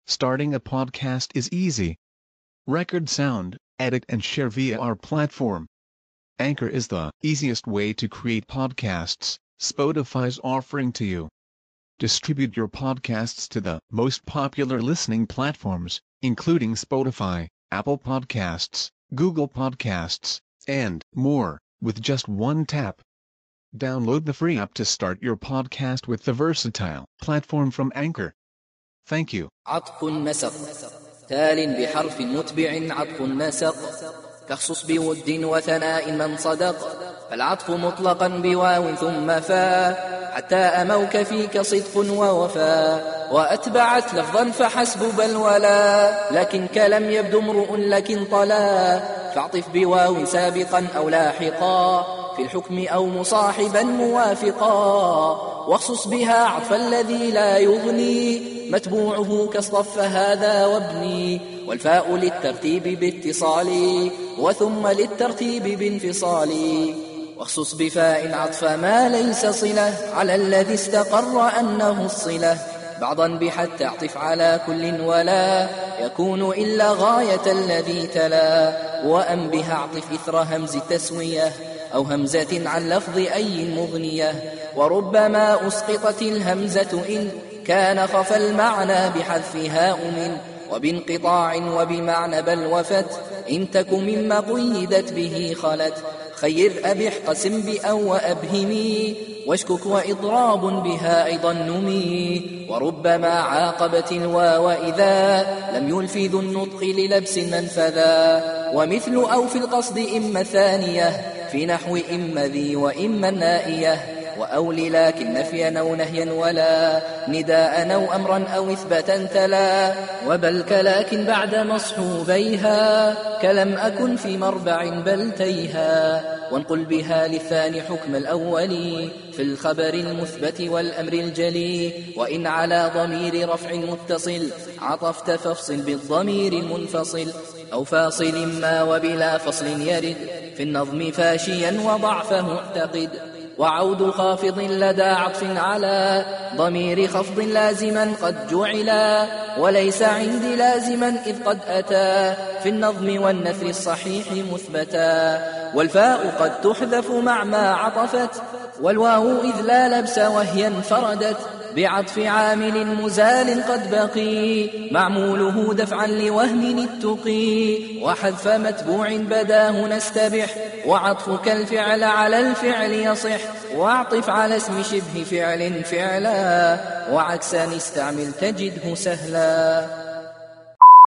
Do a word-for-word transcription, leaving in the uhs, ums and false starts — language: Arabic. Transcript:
Starting a podcast is easy. Record sound, edit and share via our platform. Anchor is the easiest way to create podcasts Spotify's offering to you. Distribute your podcasts to the most popular listening platforms, including Spotify, Apple Podcasts, Google Podcasts, and more, with just one tap. Download the free app to start your podcast with the versatile platform from Anchor. Thank you. عطف نسق تال بحرف متبع عطف نسق كخصص بود وثناء من صدق فالعطف مطلقا بواو ثم فاء حتى أموك فيك صدق ووفاء وأتبعت لفظا فحسب بل ولا لكن كلم يبدو امرؤ لكن طلا فاعطف بواو سابقا أو لاحقا في الحكم أو مصاحبا موافقا واخصص بها عطف الذي لا يغني متبوعه كاصطف هذا وابني والفاء للترتيب باتصال وثم للترتيب بانفصال واخصص بفاء عطف ما ليس صلة على الذي استقر أنه الصلة بعضا بحتى اعطف على كل ولا يكون إلا غاية الذي تلا وأن بها اعطف إثر همز التسوية أو همزة عن لفظ أي مغنية وربما أسقطت الهمزة إن كان خف المعنى بحذفها أمن وبانقطاع وبمعنى بل وفت إن تك مما قيدت به خلت خير أبح قسم بأو وأبهمي واشكك وإضراب بها أيضا نمي وربما عاقبت الواو إذا لم يلفظ النطق للبس منفذا ومثل أو في القصد إما ثانية في نحو إما ذي وإما النائية وأول لكن نفيا أو نهيا ولا نداء أو أمرا أو إثباتا تلا وبل كلاكن بعد مصحوبيها كلم أكن في مربع بل تيها وانقل بها للثاني حكم الأول في الخبر المثبت والأمر الجلي وإن على ضمير رفع متصل عطفت فافصل بالضمير المنفصل أو فاصل ما وبلا فصل يرد في النظم فاشيا وضعفه اعتقد وعود خافض لدى عطف على ضمير خفض لازما قد جعلا وليس عندي لازما إذ قد أتى في النظم والنثر الصحيح مثبتا والفاء قد تحذف مع ما عطفت والواو إذ لا لبس وهي انفردت بعطف عامل مزال قد بقي معموله دفعا لوهم التقي وحذف متبوع بداه نستبح وعطفك الفعل على الفعل يصح واعطف على اسم شبه فعل فعلا وعكسا استعمل تجده سهلا.